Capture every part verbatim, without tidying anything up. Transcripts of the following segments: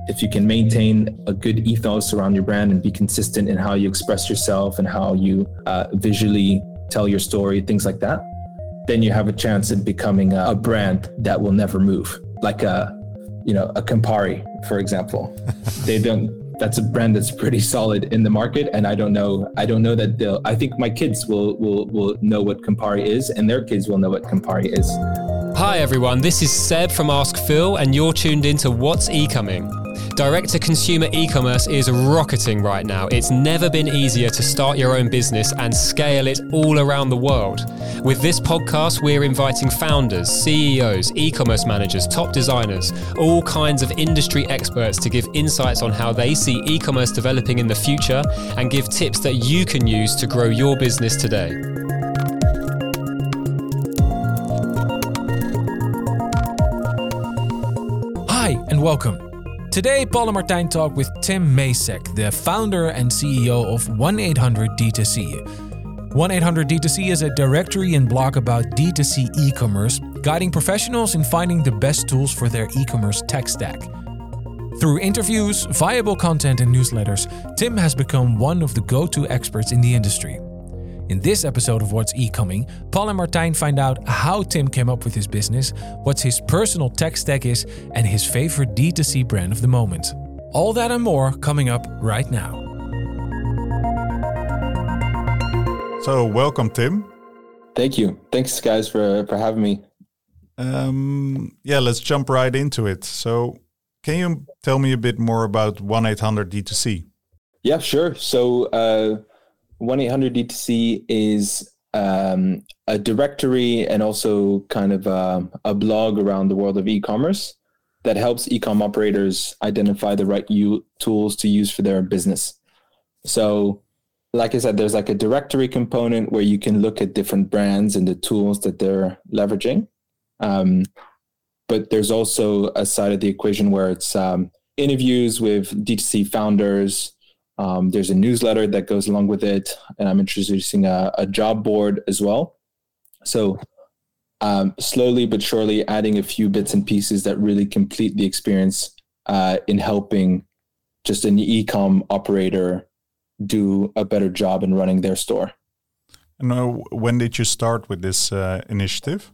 if you can maintain a good ethos around your brand and be consistent in how you express yourself and how you uh, visually tell your story, things like that, then you have a chance in becoming a, a brand that will never move. Like a, you know, a Campari, for example. They don't, that's a brand that's pretty solid in the market. And I don't know, I don't know that they'll, I think my kids will, will, will know what Campari is and their kids will know what Campari is. Hi everyone, this is Seb from Ask Phil and you're tuned into What's E-Coming. Direct-to-consumer e-commerce is rocketing right now. It's never been easier to start your own business and scale it all around the world. With this podcast, we're inviting founders, C E Os, e-commerce managers, top designers, all kinds of industry experts to give insights on how they see e-commerce developing in the future and give tips that you can use to grow your business today. Hi and welcome. Today, Paul and Martijn talk with Tim Macek, the founder and C E O of one eight hundred D two C. one eight hundred D two C is a directory and blog about D two C e-commerce, guiding professionals in finding the best tools for their e-commerce tech stack. Through interviews, viable content and newsletters, Tim has become one of the go-to experts in the industry. In this episode of What's E-Coming, Paul and Martijn find out how Tim came up with his business, what his personal tech stack is, and his favorite D two C brand of the moment. All that and more coming up right now. So, welcome, Tim. Thank you. Thanks, guys, for, for having me. Um, yeah, let's jump right into it. So, can you tell me a bit more about one eight hundred D two C? Yeah, sure. So, uh, one eight hundred D two C is um, a directory and also kind of a, a blog around the world of e-commerce that helps e-com operators identify the right u- tools to use for their business. So, like I said, there's like a directory component where you can look at different brands and the tools that they're leveraging. Um, but there's also a side of the equation where it's um, interviews with D two C founders. Um, there's a newsletter that goes along with it, and I'm introducing a, a job board as well. So um, slowly but surely adding a few bits and pieces that really complete the experience uh, in helping just an e-com operator do a better job in running their store. And uh, when did you start with this uh, initiative?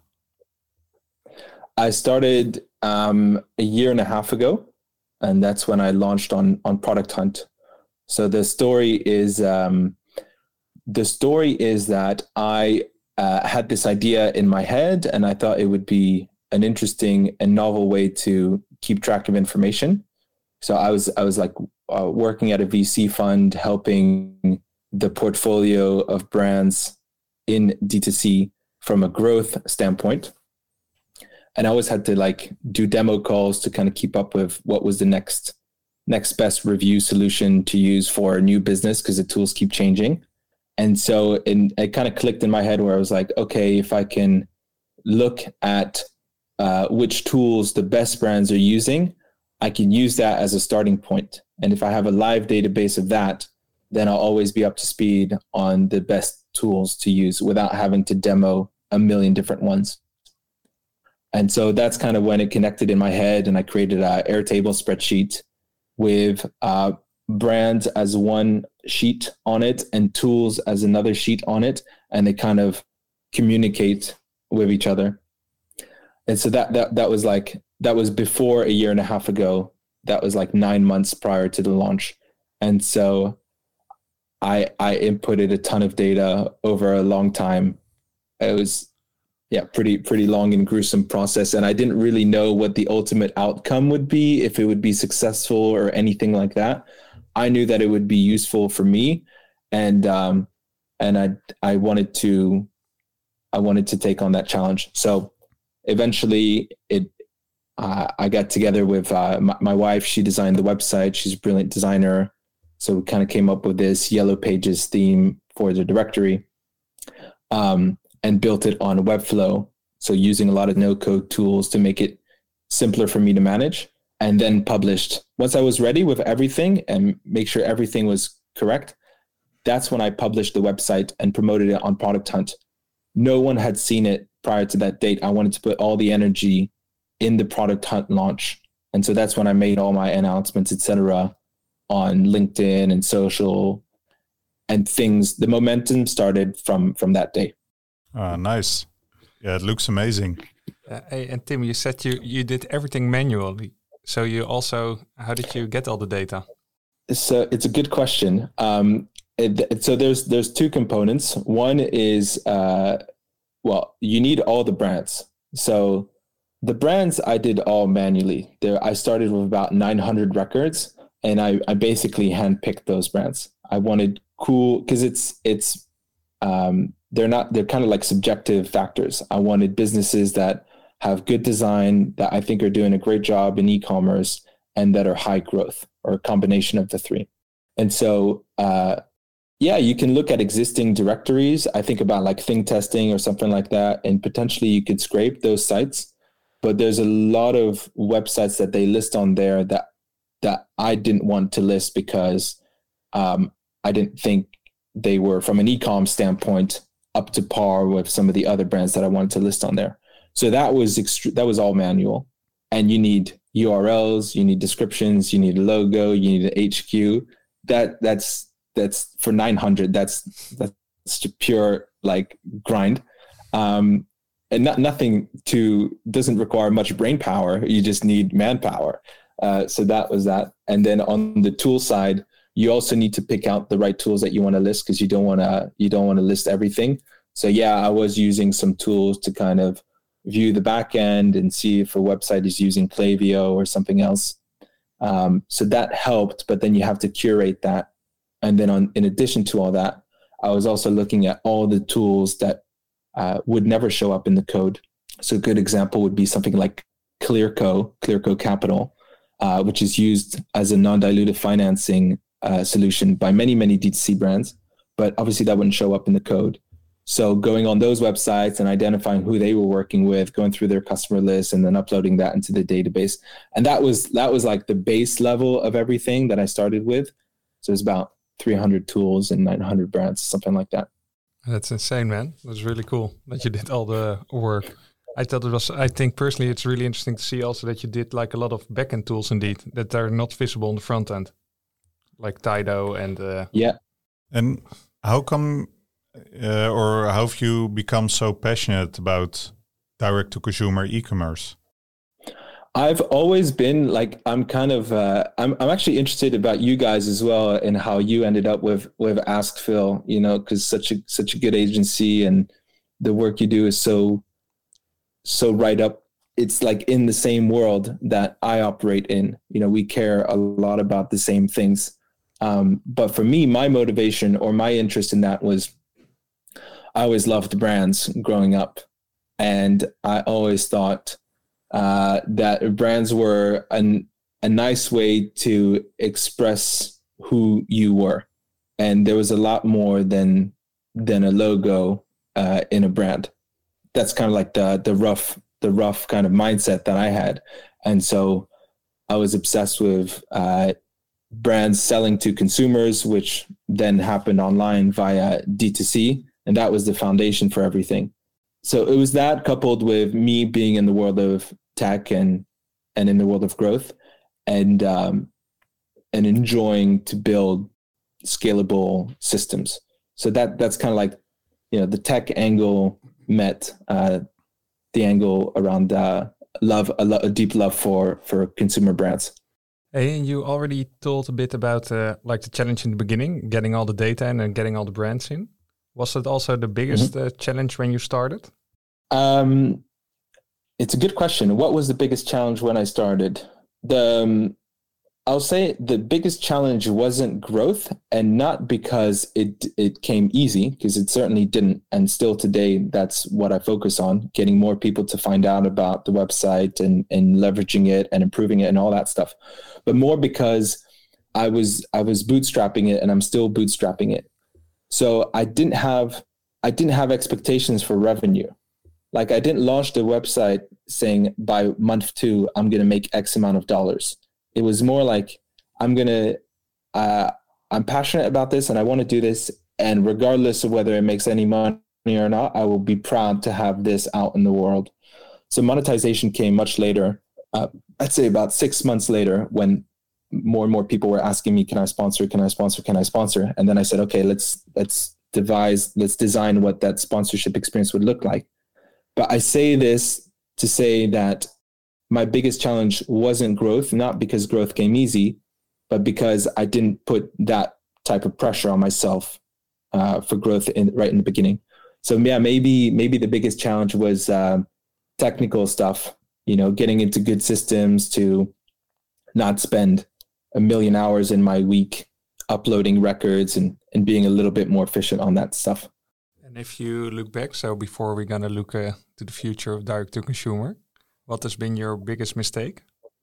I started um, a year and a half ago, and that's when I launched on on Product Hunt. So the story is um, the story is that I uh, had this idea in my head, and I thought it would be an interesting and novel way to keep track of information. So I was I was like uh, working at a V C fund, helping the portfolio of brands in D two C from a growth standpoint, and I always had to like do demo calls to kind of keep up with what was the next. next best review solution to use for a new business because the tools keep changing. And so in, it kind of clicked in my head where I was like, okay, if I can look at uh, which tools the best brands are using, I can use that as a starting point. And if I have a live database of that, then I'll always be up to speed on the best tools to use without having to demo a million different ones. And so that's kind of when it connected in my head, and I created an Airtable spreadsheet with uh, brands as one sheet on it and tools as another sheet on it, and they kind of communicate with each other. And so that that that was like that was before a year and a half ago. That was like nine months prior to the launch, and so I I inputted a ton of data over a long time. It was yeah, pretty pretty long and gruesome process. And I didn't really know what the ultimate outcome would be, if it would be successful or anything like that. I knew that it would be useful for me, and um, and I I wanted to I wanted to take on that challenge. So eventually, it uh, I got together with uh, my, my wife. She designed the website. She's a brilliant designer. So we kind of came up with this Yellow Pages theme for the directory. Um, and built it on Webflow. So using a lot of no-code tools to make it simpler for me to manage, and then published. Once I was ready with everything and make sure everything was correct, that's when I published the website and promoted it on Product Hunt. No one had seen it prior to that date. I wanted to put all the energy in the Product Hunt launch And so that's when I made all my announcements, et cetera, on LinkedIn and social, and things. The momentum started from from that day. Ah, nice. Yeah, it looks amazing. Uh, hey, and Tim, you said you you did everything manually. So you also, how did you get all the data? So it's a good question. Um, it, so there's there's two components. One is, uh, well, you need all the brands. So the brands I did all manually. There, I started with about nine hundred records, and I, I basically handpicked those brands. I wanted cool, because it's it's um, they're not they're kind of like subjective factors. I wanted businesses that have good design, that I think are doing a great job in e-commerce, and that are high growth, or a combination of the three. And so, uh, yeah, you can look at existing directories. I think about like Thing Testing or something like that, and potentially you could scrape those sites. But there's a lot of websites that they list on there that that I didn't want to list because um, I didn't think they were, from an e-com standpoint, up to par with some of the other brands that I wanted to list on there. So that was extre- that was all manual, and you need U R Ls, you need descriptions, you need a logo, you need an H Q. That that's that's for nine hundred. That's that's pure like grind, um, and not, nothing to doesn't require much brain power. You just need manpower. Uh, so that was that. And then on the tool side, you also need to pick out the right tools that you want to list, because you don't want to you don't want to list everything. So yeah, I was using some tools to kind of view the back end and see if a website is using Klaviyo or something else. Um, so that helped, but then you have to curate that. And then on, in addition to all that, I was also looking at all the tools that uh, would never show up in the code. So a good example would be something like Clearco, Clearco Capital, uh, which is used as a non-dilutive financing uh, solution by many, many D two C brands, but obviously that wouldn't show up in the code. So going on those websites and identifying who they were working with, going through their customer list, and then uploading that into the database. And that was that was like the base level of everything that I started with. So it's about three hundred tools and nine hundred brands, something like that. That's insane, man. That's really cool that you did all the work. I thought it was, I think personally, it's really interesting to see also that you did like a lot of backend tools indeed that are not visible on the front end, like Tido and... Uh, yeah. And how come... Uh, or how have you become so passionate about direct-to-consumer e-commerce? I've always been like, I'm kind of, uh, I'm I'm actually interested about you guys as well, and how you ended up with with Ask Phil. You know, because such a such a good agency, and the work you do is so so right up. It's like in the same world that I operate in. You know, we care a lot about the same things. Um, but for me, my motivation or my interest in that was, I always loved brands growing up, and I always thought uh, that brands were an, a nice way to express who you were, and there was a lot more than than a logo uh, in a brand. That's kind of like the the rough the rough kind of mindset that I had, and so I was obsessed with uh, brands selling to consumers, which then happened online via D two C. And that was the foundation for everything. So it was that, coupled with me being in the world of tech and and in the world of growth, and um, and enjoying to build scalable systems. So that that's kind of like, you know, the tech angle met uh, the angle around uh, love, a, lo- a deep love for for consumer brands. Hey, and you already told a bit about uh, like the challenge in the beginning, getting all the data in and getting all the brands in. Was that also the biggest mm-hmm. uh, challenge when you started? Um, it's a good question. What was the biggest challenge when I started? The um, I'll say the biggest challenge wasn't growth, and not because it it came easy, because it certainly didn't. And still today, that's what I focus on, getting more people to find out about the website and, and leveraging it and improving it and all that stuff. But more because I was I was bootstrapping it, and I'm still bootstrapping it. So I didn't have I didn't have expectations for revenue. Like, I didn't launch the website saying by month two, I'm going to make X amount of dollars. It was more like, I'm going to, uh, I'm passionate about this and I want to do this. And regardless of whether it makes any money or not, I will be proud to have this out in the world. So monetization came much later. uh, I'd say about six months later, when more and more people were asking me, can I sponsor, can I sponsor, can I sponsor? And then I said, okay, let's, let's devise, let's design what that sponsorship experience would look like. But I say this to say that my biggest challenge wasn't growth, not because growth came easy, but because I didn't put that type of pressure on myself uh, for growth in, right in the beginning. So yeah, maybe maybe the biggest challenge was uh, technical stuff, you know, getting into good systems to not spend a million hours in my week uploading records and, and being a little bit more efficient on that stuff. And if you look back, so before we're going to look uh, to the future of direct to consumer, what has been your biggest mistake?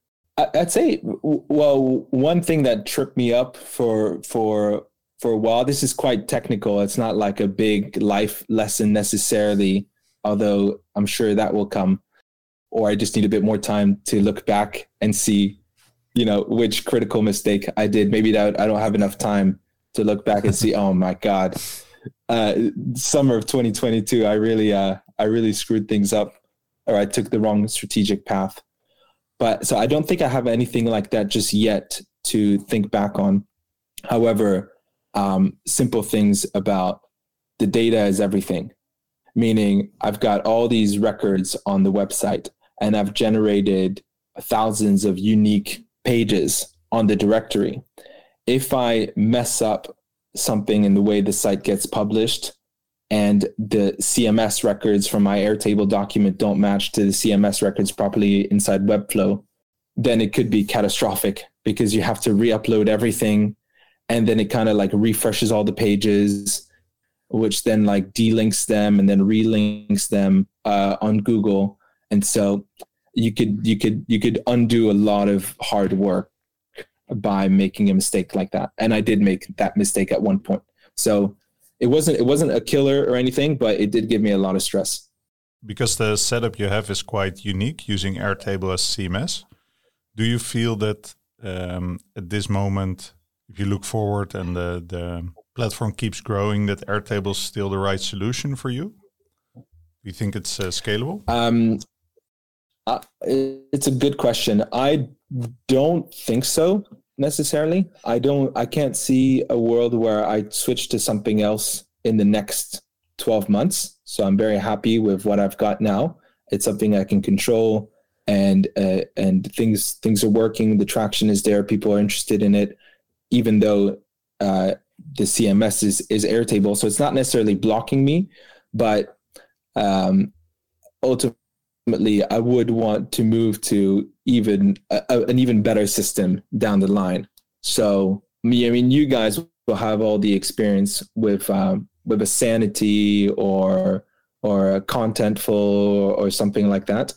I'd say, well, one thing that tripped me up for for for a while, this is quite technical. It's not like a big life lesson necessarily, although I'm sure that will come. Or I just need a bit more time to look back and see, you know, which critical mistake I did. Maybe that I don't have enough time to look back and see, oh my God, uh, summer of twenty twenty-two, I really, uh, I really screwed things up, or I took the wrong strategic path. But so I don't think I have anything like that just yet to think back on. However, um, simple things about the data is everything, meaning I've got all these records on the website and I've generated thousands of unique pages on the directory. If I mess up something in the way the site gets published and the C M S records from my Airtable document don't match to the C M S records properly inside Webflow, then it could be catastrophic because you have to re-upload everything. And then it kind of like refreshes all the pages, which then like delinks them and then relinks them uh, on Google. And so you could, you could, you could undo a lot of hard work by making a mistake like that. And I did make that mistake at one point. So it wasn't, it wasn't a killer or anything, but it did give me a lot of stress. Because the setup you have is quite unique using Airtable as C M S. Do you feel that um, at this moment, if you look forward and the, the platform keeps growing, that Airtable is still the right solution for you? Do you think it's uh, scalable? Um, uh, it's a good question. I don't think so necessarily. I don't, I can't see a world where I switch to something else in the next twelve months. So I'm very happy with what I've got now. It's something I can control, and uh, and things things are working. The traction is there. People are interested in it, even though uh, the C M S is is Airtable. So it's not necessarily blocking me, but um, ultimately I would want to move to even a, an even better system down the line. So me, I mean, you guys will have all the experience with um, with a Sanity or or a Contentful or something like that.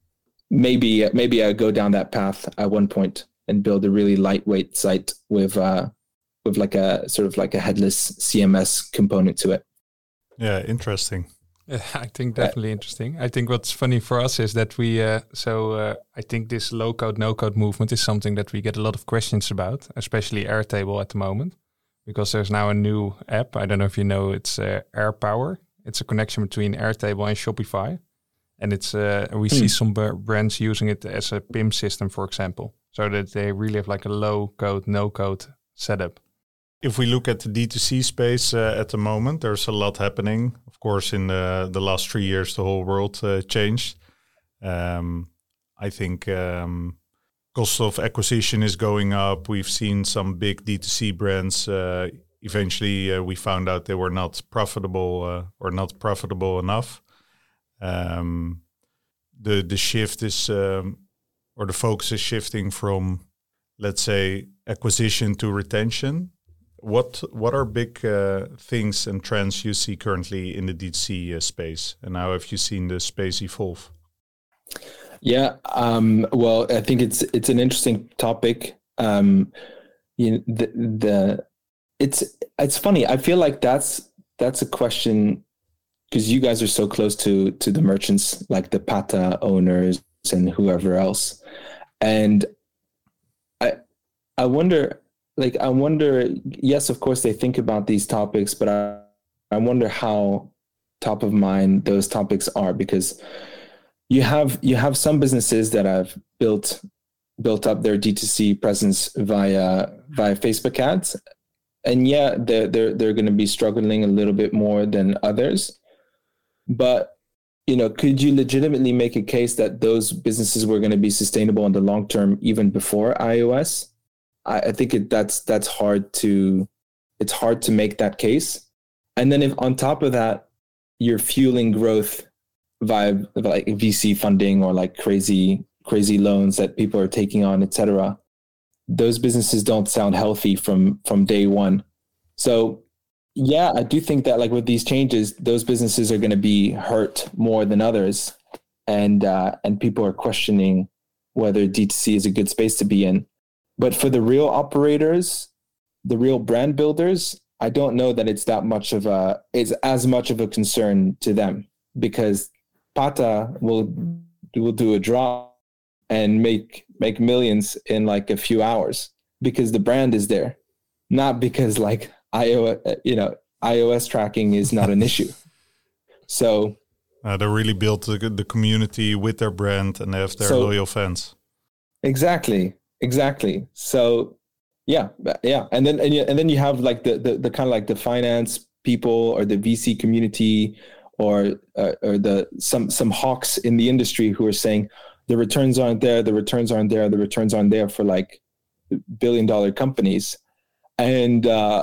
Maybe maybe I go down that path at one point and build a really lightweight site with uh, with like a sort of like a headless C M S component to it. Yeah, interesting. Yeah, I think definitely uh, interesting. I think what's funny for us is that we, uh, so uh, I think this low code, no code movement is something that we get a lot of questions about, especially Airtable at the moment, because there's now a new app. I don't know if you know, it's uh, AirPower. It's a connection between Airtable and Shopify. And it's uh, we mm. see some b- brands using it as a P I M system, for example, so that they really have like a low code, no code setup. If we look at the D two C space uh, at the moment, there's a lot happening. Of course, in the, the last three years, the whole world uh, changed. Um, I think um, cost of acquisition is going up. We've seen some big D two C brands. Uh, eventually, uh, we found out they were not profitable uh, or not profitable enough. Um, the the shift is, um, or the focus is shifting from, let's say, acquisition to retention. What what are big uh, things and trends you see currently in the D two C uh, space, and how have you seen the space evolve? Yeah, um, well, I think it's it's an interesting topic. Um, you know, the the it's it's funny. I feel like that's that's a question because you guys are so close to to the merchants, like the Pata owners and whoever else, and I I wonder. Like, I wonder, yes, of course, they think about these topics, but I, I wonder how top of mind those topics are, because you have you have some businesses that have built built up their D two C presence via via Facebook ads, and yeah, they're they're they're going to be struggling a little bit more than others. But you know, could you legitimately make a case that those businesses were going to be sustainable in the long term, even before iOS? I, I think it, that's that's hard to it's hard to make that case. And then if on top of that, you're fueling growth via like V C funding or like crazy crazy loans that people are taking on, et cetera, those businesses don't sound healthy from from day one. So yeah, I do think that like with these changes, those businesses are going to be hurt more than others, and uh, and people are questioning whether D two C is a good space to be in. But for the real operators, the real brand builders, I don't know that it's that much of a it's as much of a concern to them, because Pata will will do a drop and make make millions in like a few hours because the brand is there, not because like iOS, you know, iOS tracking is not an issue. So uh, they really built the, the community with their brand and they have their so, loyal fans. Exactly, exactly. So yeah, yeah, and then and, and then you have like the, the the kind of like the finance people or the V C community or uh, or the some some hawks in the industry who are saying the returns aren't there, the returns aren't there, the returns aren't there for like billion dollar companies. And uh,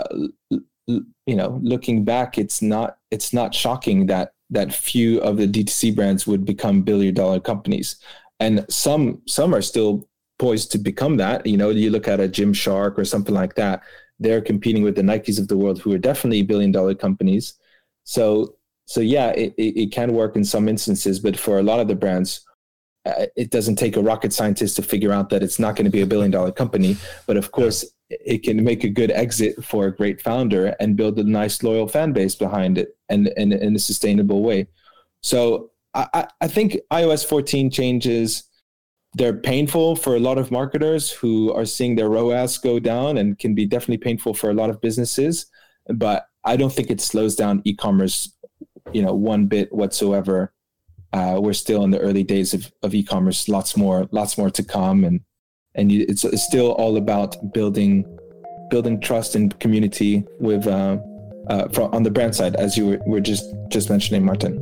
you know, looking back, it's not it's not shocking that that few of the D two C brands would become billion dollar companies, and some some are still poised to become that. You know, you look at a Gymshark or something like that; they're competing with the Nikes of the world, who are definitely billion dollar companies. So so yeah, it, it, it can work in some instances, but for a lot of the brands, uh, it doesn't take a rocket scientist to figure out that it's not going to be a billion dollar company. But of course, it can make a good exit for a great founder and build a nice loyal fan base behind it, and, and in a sustainable way. So I, I think iOS fourteen changes, they're painful for a lot of marketers who are seeing their R O A S go down, and can be definitely painful for a lot of businesses. But I don't think it slows down e-commerce, you know, one bit whatsoever. Uh, we're still in the early days of, of e-commerce, lots more, lots more to come. And And it's, it's still all about building, building trust and community with uh, uh, from, on the brand side, as you were, were just just mentioning, Martin.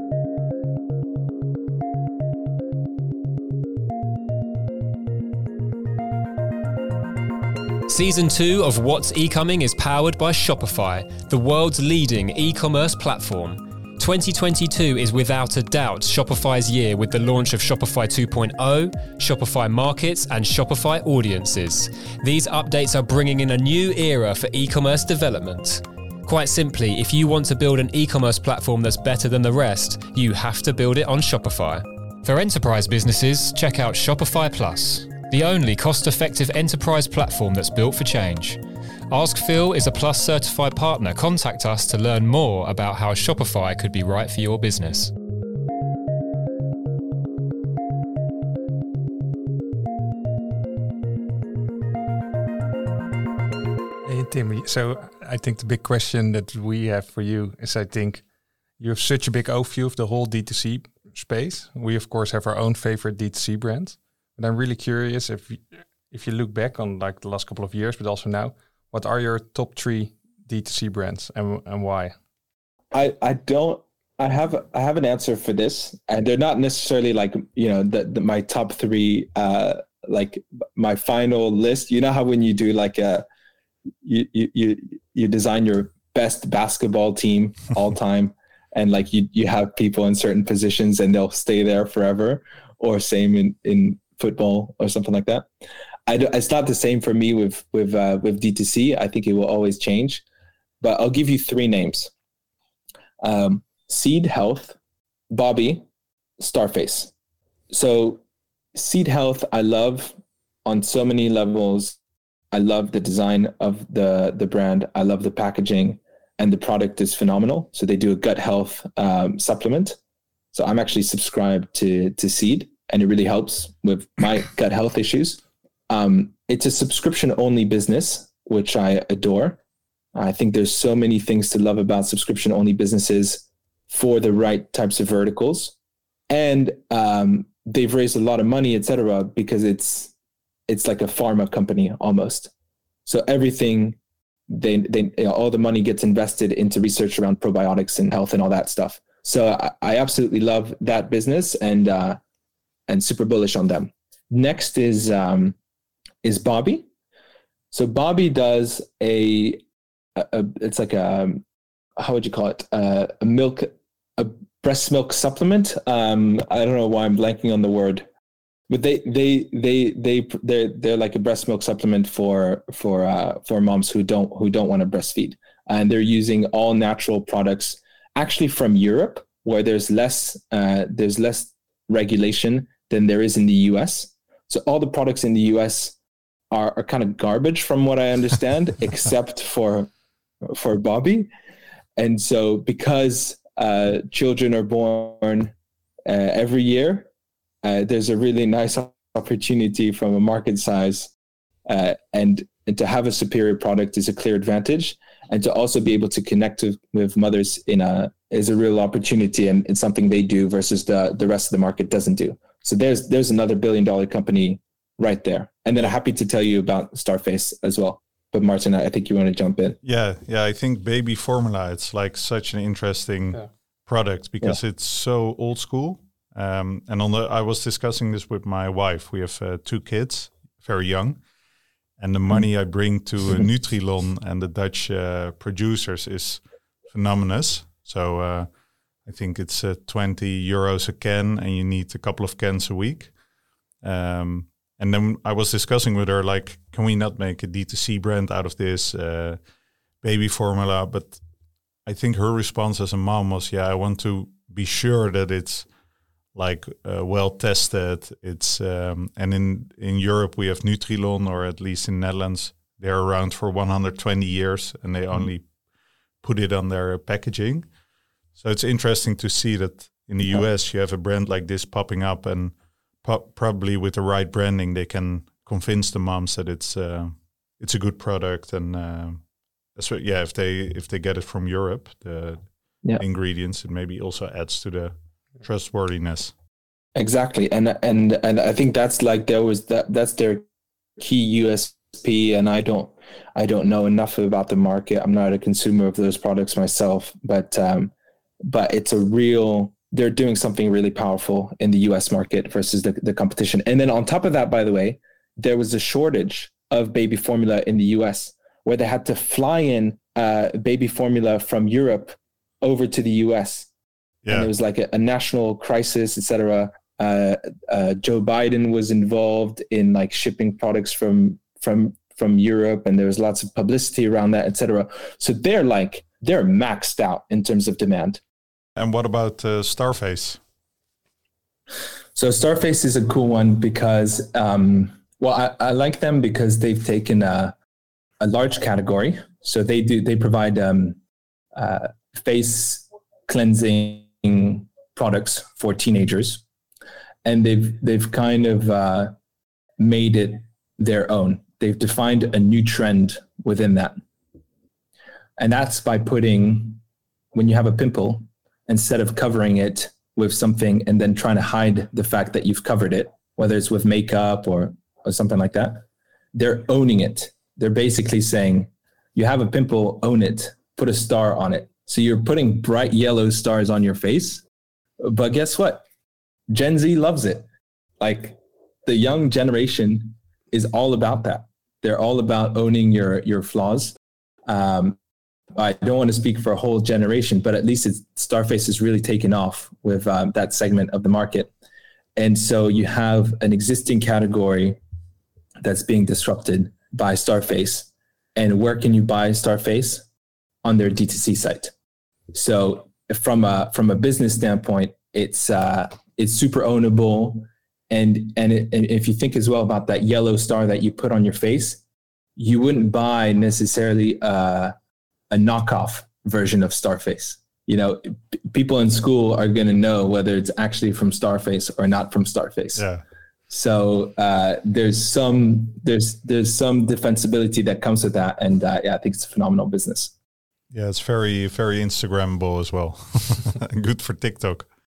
Season two of What's E-Coming is powered by Shopify, the world's leading e-commerce platform. twenty twenty-two is without a doubt Shopify's year, with the launch of Shopify two point oh, Shopify Markets and Shopify Audiences. These updates are bringing in a new era for e-commerce development. Quite simply, if you want to build an e-commerce platform that's better than the rest, you have to build it on Shopify. For enterprise businesses, check out Shopify Plus, the only cost-effective enterprise platform that's built for change. Ask Phil is a Plus certified partner. Contact us to learn more about how Shopify could be right for your business. Hey, Tim, so I think the big question that we have for you is, I think you have such a big overview of the whole D two C space. We, of course, have our own favorite D two C brands. But I'm really curious if if you look back on like the last couple of years, but also now, what are your top three D two C brands and and why? I, I don't I have I have an answer for this, and they're not necessarily like, you know, the, the my top three uh like my final list. You know how when you do like a you you you, you design your best basketball team all time, and like you you have people in certain positions and they'll stay there forever, or same in in football or something like that. I do, it's not the same for me with with uh, with D two C. I think it will always change, but I'll give you three names: um, Seed Health, Bobby, Starface. So Seed Health, I love on so many levels. I love the design of the the brand. I love the packaging, and the product is phenomenal. So they do a gut health um, supplement. So I'm actually subscribed to to Seed, and it really helps with my gut health issues. Um, it's a subscription-only business, which I adore. I think there's so many things to love about subscription-only businesses for the right types of verticals. and um, they've raised a lot of money, et cetera, because it's it's like a pharma company almost. So everything, they they you know, all the money gets invested into research around probiotics and health and all that stuff. So I, I absolutely love that business and uh, and super bullish on them. Next is um, is Bobby. So Bobby does a, a, a it's like a, how would you call it? Uh, a milk, a breast milk supplement. Um, I don't know why I'm blanking on the word, but they they they they they're they're like a breast milk supplement for for uh, for moms who don't who don't want to breastfeed, and they're using all natural products, actually from Europe, where there's less uh, there's less regulation than there is in the U S. So all the products in the U S are, are kind of garbage from what I understand, except for for Bobby. And so because uh, children are born uh, every year, uh, there's a really nice opportunity from a market size, uh, and, and to have a superior product is a clear advantage. And to also be able to connect with, with mothers in a is a real opportunity, and it's something they do versus the, the rest of the market doesn't do. So there's there's another billion dollar company right there. And then I'm happy to tell you about Starface as well. But Martin, I think you want to jump in. Yeah, yeah. I think baby formula, it's like such an interesting yeah. product because yeah. it's so old school. Um, and on the, I was discussing this with my wife. We have uh, two kids, very young. And the money mm. I bring to uh, Nutrilon and the Dutch uh, producers is phenomenal. So uh, I think it's uh, twenty euros a can, and you need a couple of cans a week. Um, and then I was discussing with her, like, can we not make a D two C brand out of this uh, baby formula? But I think her response as a mom was, yeah, I want to be sure that it's like uh, well tested. It's um, and in in Europe we have Nutrilon, or at least in Netherlands they're around for one hundred twenty years, and they mm-hmm. only put it on their packaging. So it's interesting to see that in the U S you have a brand like this popping up, and po- probably with the right branding they can convince the moms that it's uh, it's a good product. And uh, so yeah, if they if they get it from Europe, the yeah. ingredients, it maybe also adds to the trustworthiness. Exactly. And and and I think that's like there was that that's their key U S P, and I don't I don't know enough about the market. I'm not a consumer of those products myself, but um but it's a real they're doing something really powerful in the U S market versus the, the competition. And then on top of that, by the way, there was a shortage of baby formula in the U S where they had to fly in uh baby formula from Europe over to the U S. Yeah. And it was like a, a national crisis, et cetera. Uh, uh, Joe Biden was involved in like shipping products from from from Europe, and there was lots of publicity around that, et cetera. So they're like they're maxed out in terms of demand. And what about uh, Starface? So Starface is a cool one because, um, well, I, I like them because they've taken a a large category. So they do they provide um, uh, face cleansing products for teenagers, and they've they've kind of uh, made it their own. They've defined a new trend within that, and that's by putting, when you have a pimple, instead of covering it with something and then trying to hide the fact that you've covered it, whether it's with makeup or or something like that, they're owning it. They're basically saying, you have a pimple, own it, put a star on it. So you're putting bright yellow stars on your face, but guess what? Gen Z loves it. Like the young generation is all about that. They're all about owning your, your flaws. Um, I don't want to speak for a whole generation, but at least it's, Starface has really taken off with um, that segment of the market. And so you have an existing category that's being disrupted by Starface. And where can you buy Starface? On their D two C site. So from a from a business standpoint, it's uh, it's super ownable, and and, it, and if you think as well about that yellow star that you put on your face, you wouldn't buy necessarily uh, a knockoff version of Starface. You know, p- people in school are going to know whether it's actually from Starface or not from Starface. Yeah. So uh, there's some there's there's some defensibility that comes with that, and uh, yeah, I think it's a phenomenal business. Yeah, it's very, very Instagrammable as well. Good for TikTok.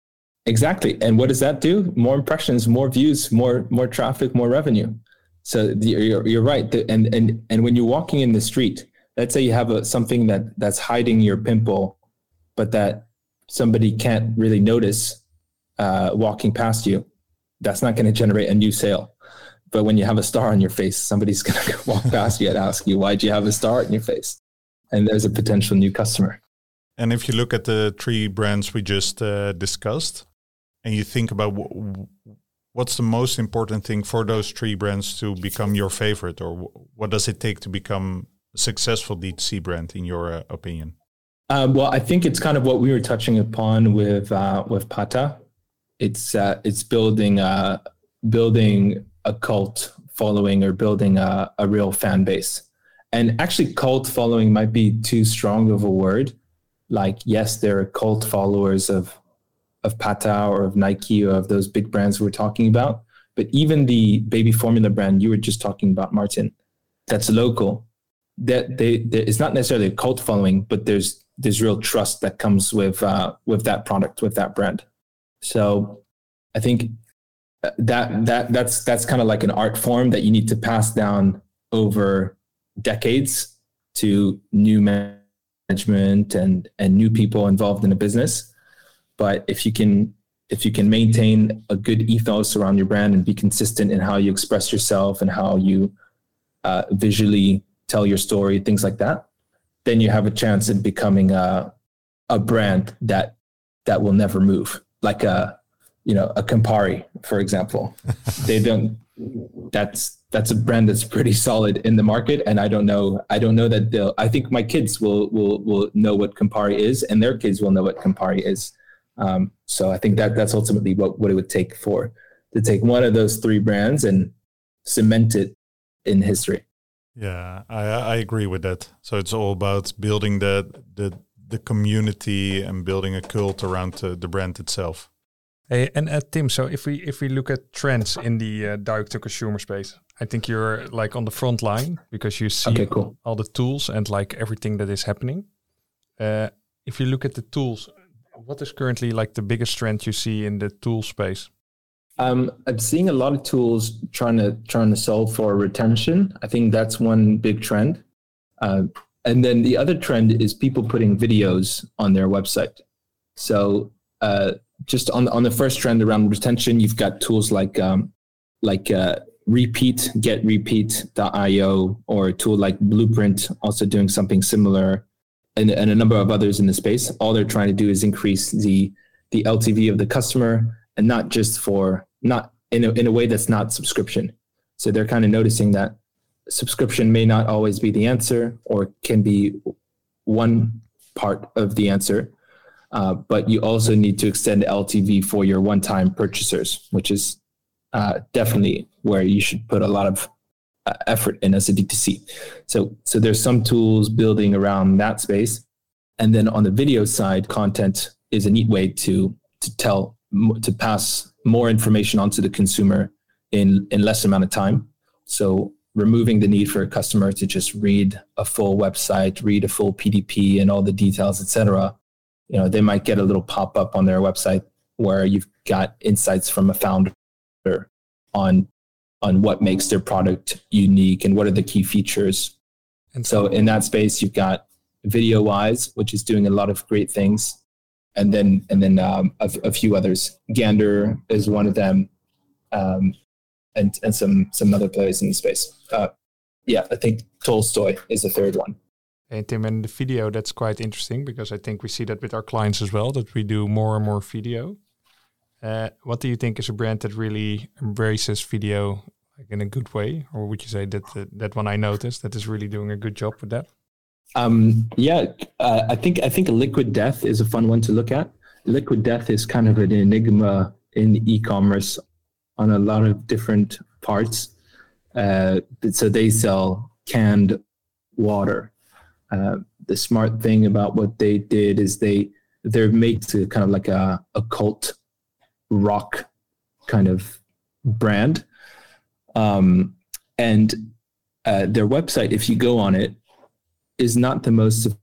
Exactly. And what does that do? More impressions, more views, more more traffic, more revenue. So the, you're, you're right. The, and and and when you're walking in the street, let's say you have a, something that that's hiding your pimple, but that somebody can't really notice uh, walking past you, that's not going to generate a new sale. But when you have a star on your face, somebody's going to walk past you and ask you, why'd you have a star on your face? And there's a potential new customer. And if you look at the three brands we just uh, discussed, and you think about w- what's the most important thing for those three brands to become your favorite, or w- what does it take to become a successful D two C brand, in your uh, opinion? Um, well, I think it's kind of what we were touching upon with uh, with Pata. It's uh, it's building a, building a cult following, or building a, a real fan base. And actually, cult following might be too strong of a word. Like, yes, there are cult followers of of Pata or of Nike or of those big brands we're talking about. But even the baby formula brand you were just talking about, Martin, that's local, that they, they it's not necessarily a cult following, but there's there's real trust that comes with uh, with that product, with that brand. So I think that that that's that's kind of like an art form that you need to pass down over decades to new management and and new people involved in the business. But if you can if you can maintain a good ethos around your brand and be consistent in how you express yourself and how you uh, visually tell your story, things like that, then you have a chance in becoming a a brand that that will never move. Like a you know a Campari, for example. They don't. That's that's a brand that's pretty solid in the market, and I don't know. I don't know that they'll. I think my kids will will will know what Campari is, and their kids will know what Campari is. Um, so I think that that's ultimately what, what it would take for to take one of those three brands and cement it in history. Yeah, I, I agree with that. So it's all about building the the the community and building a cult around the, the brand itself. Hey, and uh, Tim, so if we if we look at trends in the uh, direct to consumer space, I think you're like on the front line because you see okay, cool. all the tools and like everything that is happening. Uh, if you look at the tools, what is currently like the biggest trend you see in the tool space? Um, I'm seeing a lot of tools trying to trying to solve for retention. I think that's one big trend. Uh, and then the other trend is people putting videos on their website. So uh, just on on the first trend around retention, you've got tools like um, like uh, Repeat, get repeat dot io, or a tool like Blueprint, also doing something similar. And, and a number of others in the space. All they're trying to do is increase the the L T V of the customer, and not just for not in a, in a way that's not subscription. So they're kind of noticing that subscription may not always be the answer, or can be one part of the answer, uh, but you also need to extend L T V for your one-time purchasers, which is uh, definitely where you should put a lot of Uh, effort in as a D two C. So, so there's some tools building around that space. And then on the video side, content is a neat way to, to tell, to pass more information onto the consumer in, in less amount of time. So removing the need for a customer to just read a full website, read a full P D P and all the details, et cetera. You know, they might get a little pop-up on their website where you've got insights from a founder on on what makes their product unique and what are the key features. And so in that space, you've got VideoWise, which is doing a lot of great things. And then and then um, a, a few others. Gander is one of them, um, and, and some, some other players in the space. Uh, yeah, I think Tolstoy is the third one. Hey, Tim, and the video, that's quite interesting because I think we see that with our clients as well, that we do more and more video. Uh, what do you think is a brand that really embraces video like in a good way? Or would you say that uh, that one I noticed that is really doing a good job with that? Um, yeah, uh, I think I think Liquid Death is a fun one to look at. Liquid Death is kind of an enigma in e-commerce on a lot of different parts. Uh, so they sell canned water. Uh, the smart thing about what they did is they they're made to kind of like a, a cult rock kind of brand. Um, and uh, their website, if you go on it, is not the most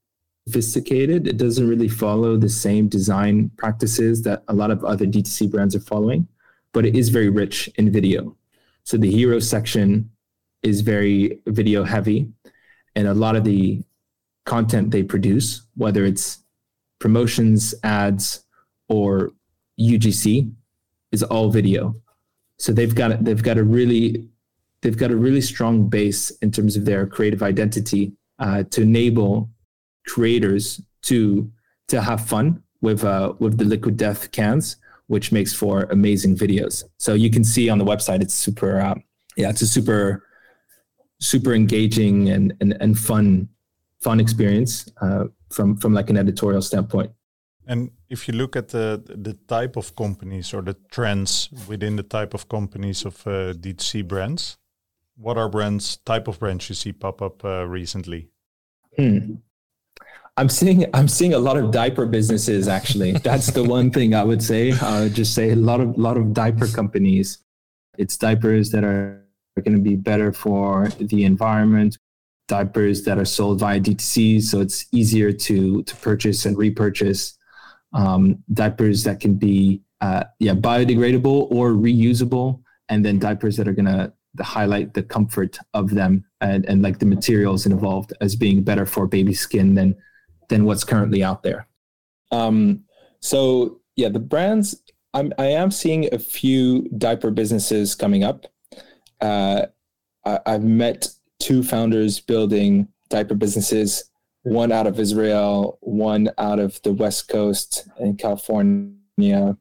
sophisticated. It doesn't really follow the same design practices that a lot of other D two C brands are following, but it is very rich in video. So the hero section is very video heavy, and a lot of the content they produce, whether it's promotions, ads, or U G C, is all video. So they've got they've got a really they've got a really strong base in terms of their creative identity uh, to enable creators to to have fun with uh, with the Liquid Death cans, which makes for amazing videos. So you can see on the website, it's super uh, yeah, it's a super super engaging and and, and fun fun experience uh, from from like an editorial standpoint. And if you look at the the type of companies or the trends within the type of companies of uh, D two C brands, what are brands, type of brands you see pop up uh, recently? Hmm. I'm seeing I'm seeing a lot of diaper businesses actually. That's the one thing I would say. I would just say a lot of lot of diaper companies. It's diapers that are going to be better for the environment. Diapers that are sold via D two C, so it's easier to to purchase and repurchase. Um, diapers that can be uh, yeah biodegradable or reusable, and then diapers that are gonna highlight the comfort of them and, and like the materials involved as being better for baby skin than than what's currently out there. Um, so yeah, the brands I'm I am seeing a few diaper businesses coming up. Uh, I, I've met two founders building diaper businesses. One out of Israel, one out of the West Coast in California,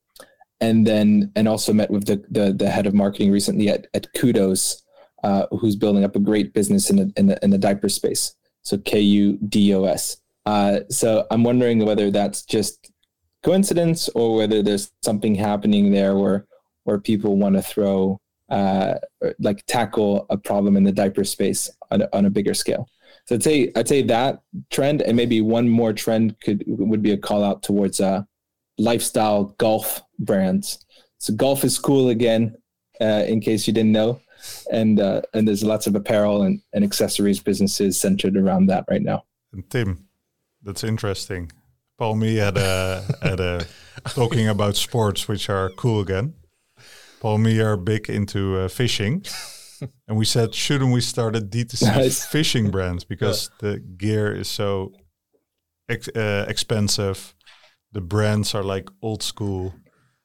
and then and also met with the the, the head of marketing recently at, at Kudos, uh, who's building up a great business in the, in the in the diaper space. So K U D O S. Uh, so I'm wondering whether that's just coincidence or whether there's something happening there where where people want to throw uh, like tackle a problem in the diaper space on a, on a bigger scale. So I'd say I'd say that trend, and maybe one more trend could would be a call out towards uh, lifestyle golf brands. So golf is cool again, uh, in case you didn't know, and uh, and there's lots of apparel and, and accessories businesses centered around that right now. And Tim, that's interesting. Paul Me had a had a talking about sports which are cool again. Paul Me are big into uh, fishing. And we said, shouldn't we start a D two C nice. fishing brand? Because yeah. the gear is so ex- uh, expensive. The brands are like old school.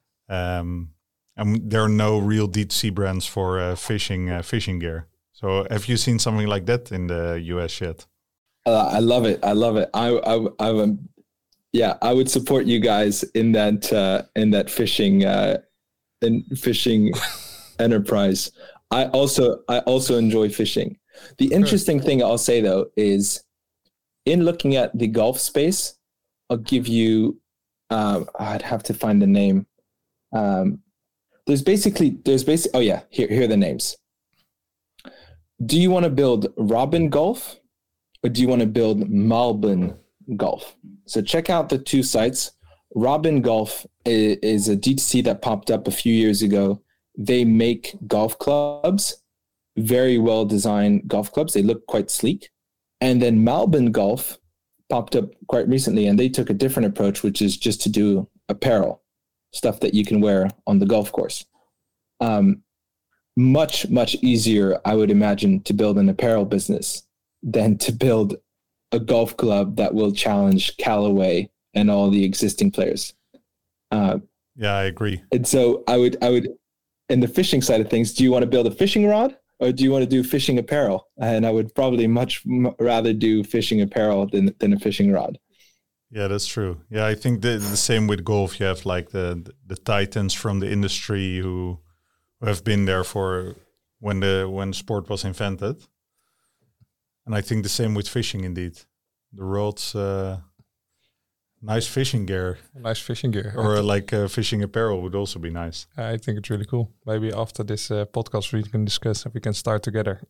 Um, and there are no real D two C brands for uh, fishing uh, fishing gear. So have you seen something like that in the U S yet? Uh, I love it. I love it. I, I, I, um, yeah, I would support you guys in that uh, in that fishing uh, in fishing enterprise. I also I also enjoy fishing. The interesting thing I'll say though is, in looking at the golf space, I'll give you. Um, I'd have to find the name. Um, there's basically there's basic. Oh yeah, here here are the names. Do you want to build Robin Golf, or do you want to build Malbon Golf? So check out the two sites. Robin Golf is, is a D two C that popped up a few years ago. They make golf clubs, very well designed golf clubs. They look quite sleek. And then Malbon Golf popped up quite recently, and they took a different approach, which is just to do apparel, stuff that you can wear on the golf course. Um, much, much easier, I would imagine, to build an apparel business than to build a golf club that will challenge Callaway and all the existing players. Uh, yeah, I agree. And so I would, I would, in the fishing side of things, do you want to build a fishing rod or do you want to do fishing apparel? And I would probably much m- rather do fishing apparel than than a fishing rod. Yeah, that's true. Yeah, I think the, the same with golf. You have like the the titans from the industry who, who have been there for when the when sport was invented. And I think the same with fishing indeed. The rods, uh, nice fishing gear. Nice fishing gear. Or uh, like uh, fishing apparel would also be nice. I think it's really cool. Maybe after this uh, podcast we can discuss if we can start together.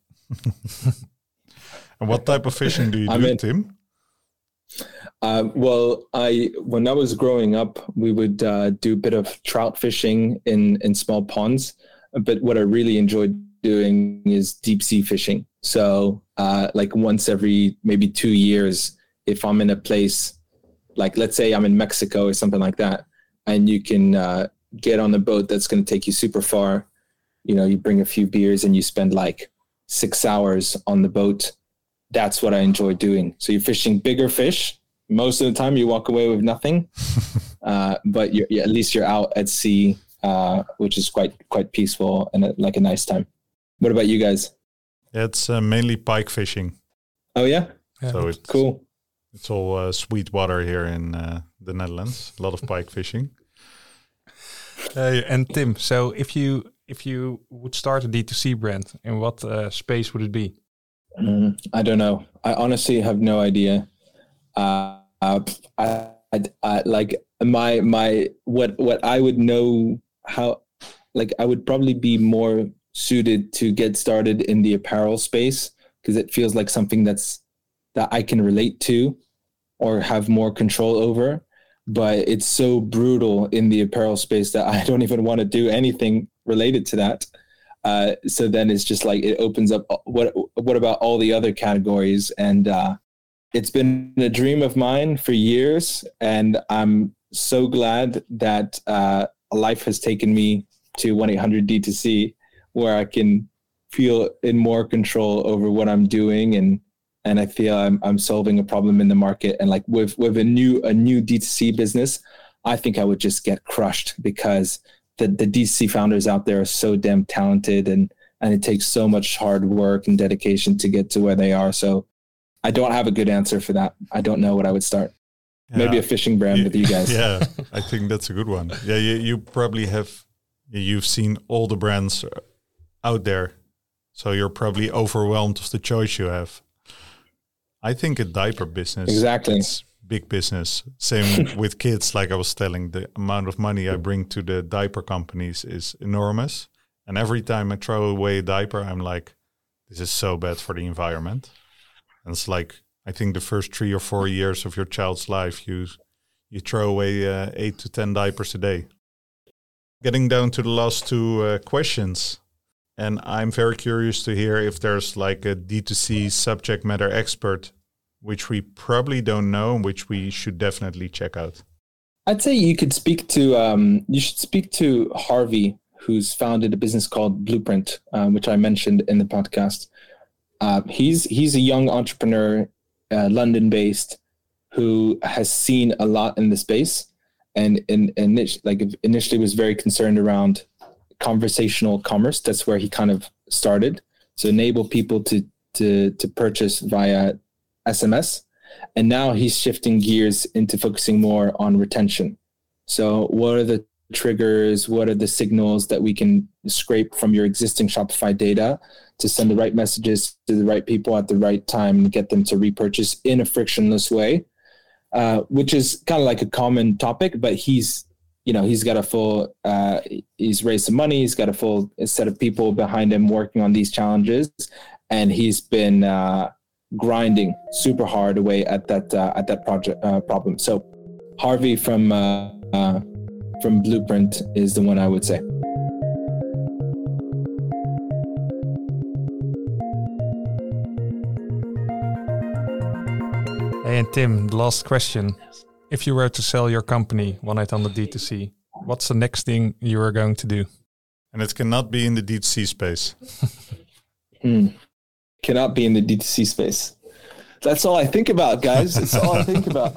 And what type of fishing do you I'm do, in. Tim? Uh, well, I when I was growing up, we would uh, do a bit of trout fishing in, in small ponds. But what I really enjoyed doing is deep sea fishing. So uh, like once every maybe two years if I'm in a place, like let's say I'm in Mexico or something like that, and you can uh, get on a boat that's going to take you super far. You know, you bring a few beers and you spend like six hours on the boat. That's what I enjoy doing. So you're fishing bigger fish. Most of the time you walk away with nothing, uh, but you're, yeah, at least you're out at sea, uh, which is quite quite peaceful and a, like a nice time. What about you guys? It's uh, mainly pike fishing. Oh yeah, Yeah, so it's cool. It's all uh, sweet water here in uh, the Netherlands. A lot of pike fishing. Hey, and Tim, so if you if you would start a D two C brand, in what uh, space would it be? Mm, I don't know. I honestly have no idea. Uh, uh, I, I, I like my my what what I would know how like I would probably be more suited to get started in the apparel space because it feels like something that's that I can relate to or have more control over. But it's so brutal in the apparel space that I don't even want to do anything related to that. Uh, so then it's just like it opens up. What what about all the other categories? And uh, it's been a dream of mine for years, and I'm so glad that uh, life has taken me to one eight hundred D two C, where I can feel in more control over what I'm doing, and and I feel I'm I'm solving a problem in the market. And like with with a new a new D two C business, I think I would just get crushed because the the D two C founders out there are so damn talented, and and it takes so much hard work and dedication to get to where they are. So I don't have a good answer for that. I don't know what I would start. Yeah. Maybe a fishing brand you, with you guys. Yeah, I think that's a good one. Yeah, you, you probably have, you've seen all the brands out there. So you're probably overwhelmed of the choice you have. I think a diaper business. Exactly. It's big business. Same with kids. Like I was telling, the amount of money I bring to the diaper companies is enormous. And every time I throw away a diaper, I'm like, this is so bad for the environment. And it's like, I think the first three or four years of your child's life, you you throw away uh, eight to ten diapers a day. Getting down to the last two uh, questions. And I'm very curious to hear if there's like a D two C subject matter expert, which we probably don't know, which we should definitely check out. I'd say you could speak to, um, you should speak to Harvey, who's founded a business called Blueprint, um, which I mentioned in the podcast. Uh, he's he's a young entrepreneur, uh, London-based, who has seen a lot in the space, and and, and like initially was very concerned around conversational commerce. That's where he kind of started. So enable people to to to purchase via S M S, and now he's shifting gears into focusing more on retention. So what are the triggers? What are the signals that we can scrape from your existing Shopify data to send the right messages to the right people at the right time and get them to repurchase in a frictionless way, uh, which is kind of like a common topic, but he's, you know, he's got a full, uh, he's raised some money. He's got a full set of people behind him working on these challenges. And he's been uh, grinding super hard away at that, uh, at that project uh, problem. So Harvey from, uh, uh, from Blueprint is the one I would say. Hey, and Tim, the last question. If you were to sell your company, one eight hundred D two C, what's the next thing you are going to do? And it cannot be in the D two C space. mm. Cannot be in the D two C space. That's all I think about, guys. That's all I think about.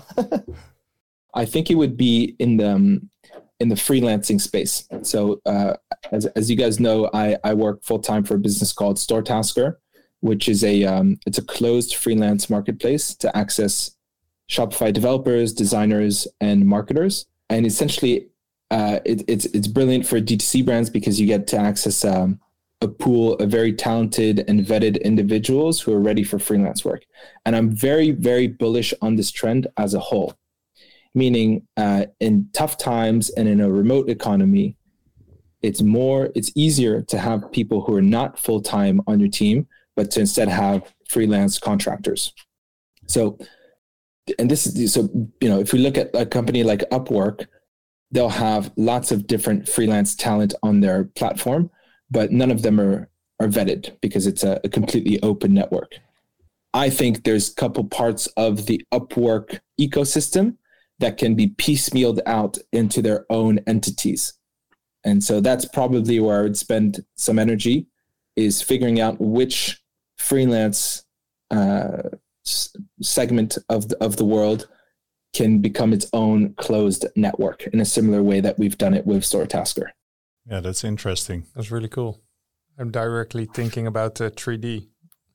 I think it would be in the um, in the freelancing space. So uh, as as you guys know, I, I work full time for a business called StoreTasker, which is a um, it's a closed freelance marketplace to access Shopify developers, designers, and marketers. And essentially, uh, it, it's it's brilliant for D two C brands because you get to access um, a pool of very talented and vetted individuals who are ready for freelance work. And I'm very, very bullish on this trend as a whole. Meaning, uh, in tough times and in a remote economy, it's more, it's easier to have people who are not full time on your team, but to instead have freelance contractors. So, and this is so you know, if we look at a company like Upwork, they'll have lots of different freelance talent on their platform, but none of them are are vetted because it's a, a completely open network. I think there's a couple parts of the Upwork ecosystem that can be piecemealed out into their own entities. And so that's probably where I would spend some energy, is figuring out which freelance uh, s- segment of the, of the world can become its own closed network in a similar way that we've done it with Storytasker. Yeah, that's interesting. That's really cool. I'm directly thinking about uh, three D.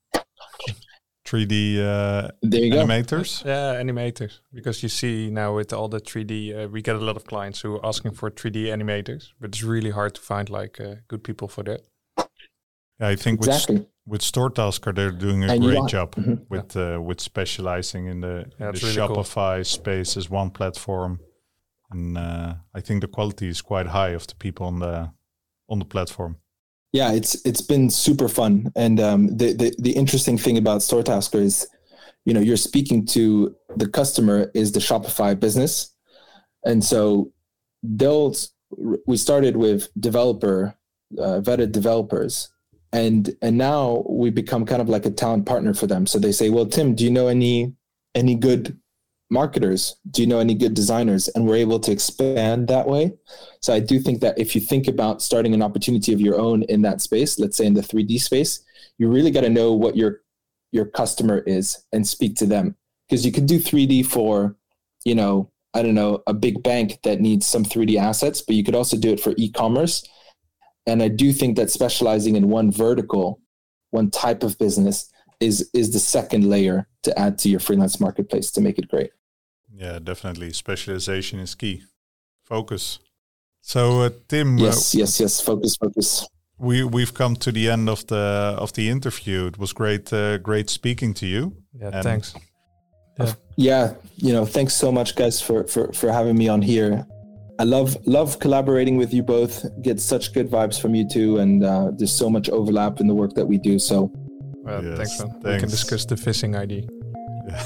three D uh, there you animators? Go. Yeah, animators. Because you see now with all the three D, uh, we get a lot of clients who are asking for three D animators, but it's really hard to find like uh, good people for that. Yeah, I think exactly. with, with Storytasker, they're doing a and great want, job mm-hmm. with uh, with specializing in the, yeah, the really Shopify cool. space as one platform. And uh, I think the quality is quite high of the people on the on the platform. Yeah, it's it's been super fun. And um, the, the the interesting thing about Storytasker is, you know, you're speaking to the customer is the Shopify business. And so they'll, we started with developer, uh, vetted developers. And and now we become kind of like a talent partner for them. So they say, well, Tim, do you know any any good marketers? Do you know any good designers? And we're able to expand that way. So I do think that if you think about starting an opportunity of your own in that space, let's say in the three D space, you really got to know what your your customer is and speak to them. Because you could do three D for, you know, I don't know, a big bank that needs some three D assets, but you could also do it for e-commerce. And I do think that specializing in one vertical, one type of business is is the second layer to add to your freelance marketplace to make it great. Yeah, definitely. Specialization is key. Focus. So, uh, Tim. Yes, uh, yes, yes. Focus, focus. We we've come to the end of the of the interview. It was great, uh, great speaking to you. Yeah, and thanks. Yeah. yeah, you know, thanks so much, guys, for for for having me on here. I love love collaborating with you both. Get such good vibes from you two, and uh, there's so much overlap in the work that we do. So, well, yes, thanks, man. thanks. We can discuss the phishing I D. Yeah.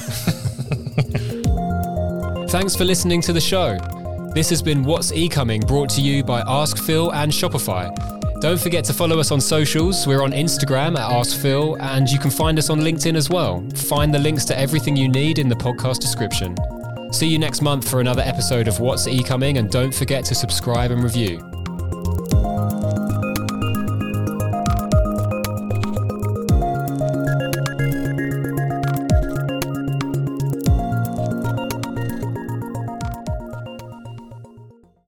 Thanks for listening to the show. This has been What's E-Coming, brought to you by Ask Phil and Shopify. Don't forget to follow us on socials. We're on Instagram at Ask Phil, and you can find us on LinkedIn as well. Find the links to everything you need in the podcast description. See you next month for another episode of What's E-Coming, and don't forget to subscribe and review.